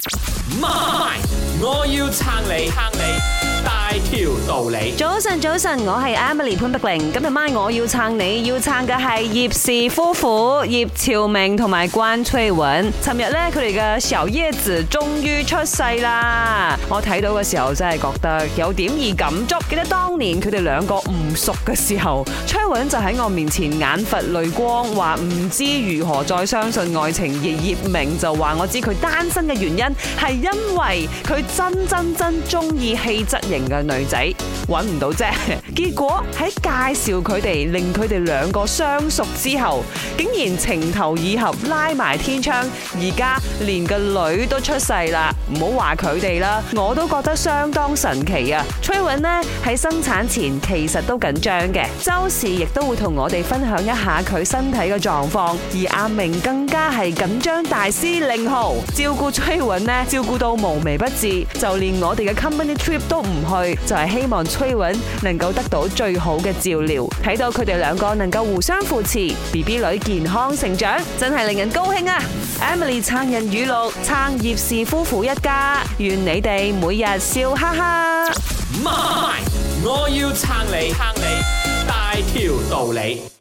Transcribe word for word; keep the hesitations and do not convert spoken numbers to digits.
媽，我要撐你，撐你大條道理。 早晨，早晨，我係 Emily 潘碧玲。今日晚我要撐你，要撐嘅係葉氏夫婦葉朝明同埋關翠雯。尋日咧，佢哋嘅小葉子終於出世啦！我睇到嘅時候真係覺得有點易感觸。記得當年佢哋兩個唔熟嘅時候，翠雯就喺我面前眼佛淚光，話唔知如何再相信愛情。而葉明就話我知佢單身嘅原因係因為佢真真真中意氣質型嘅女仔，揾唔到啫。結果喺介紹佢哋，令佢哋兩個相熟之後，竟然情投意合，拉埋天窗，而家連個女都出世啦！唔好話佢哋啦，我都覺得相當神奇啊！翠雯呢喺生產前其實都緊張嘅，周時亦都會同我哋分享一下佢身體嘅狀況，而阿明更加係緊張大師令號，照顧翠雯呢照顧到無微不至，就連我哋嘅 company trip 都唔去，就係希望翠雯能夠得到最好嘅照料。睇到佢哋兩個能夠互相扶持 ，B B 女健康成長，真係令人高興啊 ！Emily 撐人語錄，撐葉氏夫婦一家，願你哋每日笑哈哈。 媽，我要撐你，撐你大條道理。